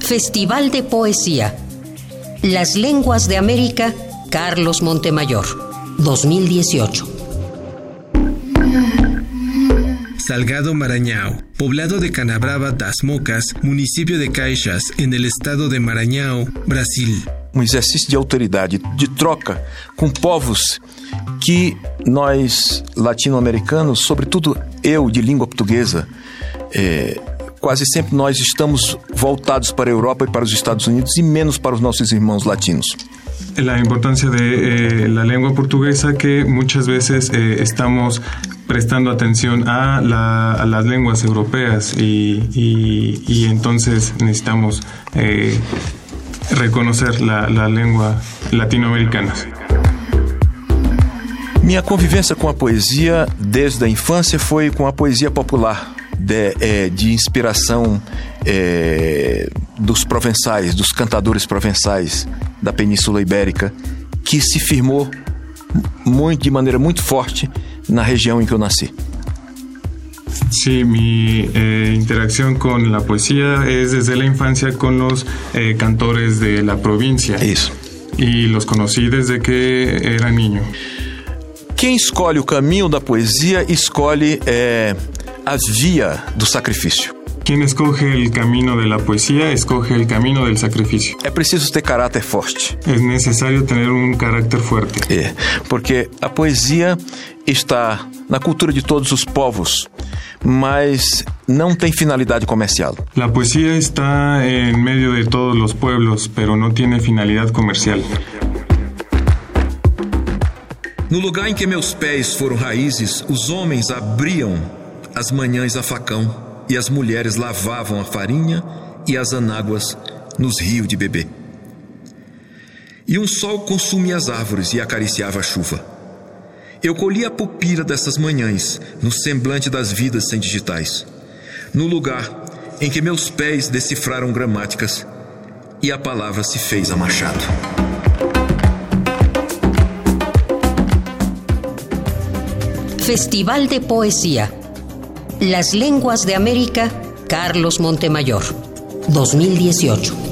Festival de Poesía. Las Lenguas de América, Carlos Montemayor, 2018. Salgado Maranhão, poblado de Canabrava das Mocas, município de Caixas, en el estado de Maranhão, Brasil. Um exercício de autoridade, de troca com povos que nós, latino-americanos, sobretudo eu, de língua portuguesa, quase sempre nós estamos voltados para a Europa e para os Estados Unidos e menos para os nossos irmãos latinos. La importancia de la lengua portuguesa, que muchas veces estamos prestando atención a las lenguas europeas y entonces necesitamos reconocer la lengua latino-americana. Minha convivência com a poesia desde a infância foi com a poesia popular, de inspiração dos provençais, dos cantadores provençais da Península Ibérica, que se firmou de maneira muito forte na região em que eu nasci. Sí, mi interacción con la poesía es desde la infancia con los cantores de la provincia. Isso. Y los conocí desde que era niño. Quem escolhe o caminho da poesia escolhe a via do sacrifício. Quien escoge el camino de la poesía escoge el camino del sacrificio. É preciso ter caráter forte. Es necesario tener un carácter fuerte. Porque a poesia está na cultura de todos os povos, mas não tem finalidade comercial. La poesía está en medio de todos los pueblos, pero no tiene finalidad comercial. No lugar em que meus pés foram raízes, os homens abriam as manhãs a facão e as mulheres lavavam a farinha e as anáguas nos rios de beber. E um sol consumia as árvores e acariciava a chuva. Eu colhia a pupila dessas manhãs no semblante das vidas sem digitais, no lugar em que meus pés decifraram gramáticas e a palavra se fez a machado. Festival de Poesía. Las Lenguas de América, Carlos Montemayor, 2018.